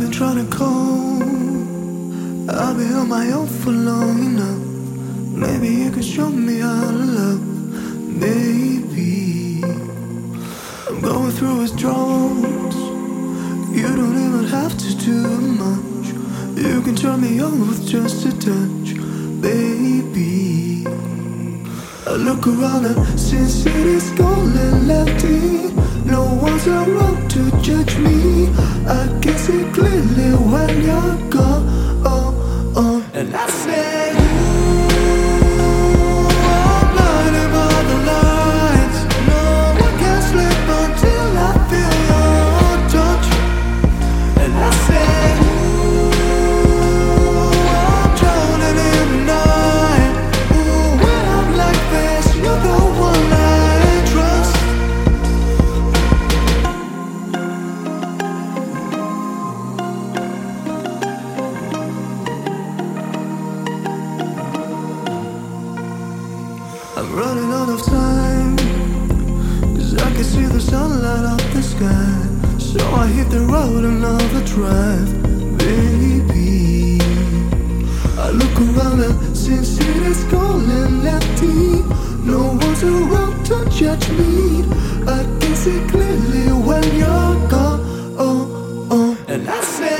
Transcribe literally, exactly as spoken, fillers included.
trying to call. I've been on my own for long enough. Maybe you can show me how to love. Maybe I'm going through withdrawals. You don't even have to do much. You can turn me on with just a touch, baby. I look around and since it is cold and empty, no one's around to judge me. I can see clearly when you're gone, oh, oh. And I say, ooh, I'm blinded by the lights. No, I can't sleep until I feel your touch. And I say, ooh, I'm drowning in the night. Ooh, when I'm like this, you're the one I trust. I'm running out of time, cause I can see the sunlight up the sky. So I hit the road another drive, baby. I look around and since it is cold and empty, no one's around to judge me. I can see clearly when you're gone, oh, oh. And I say,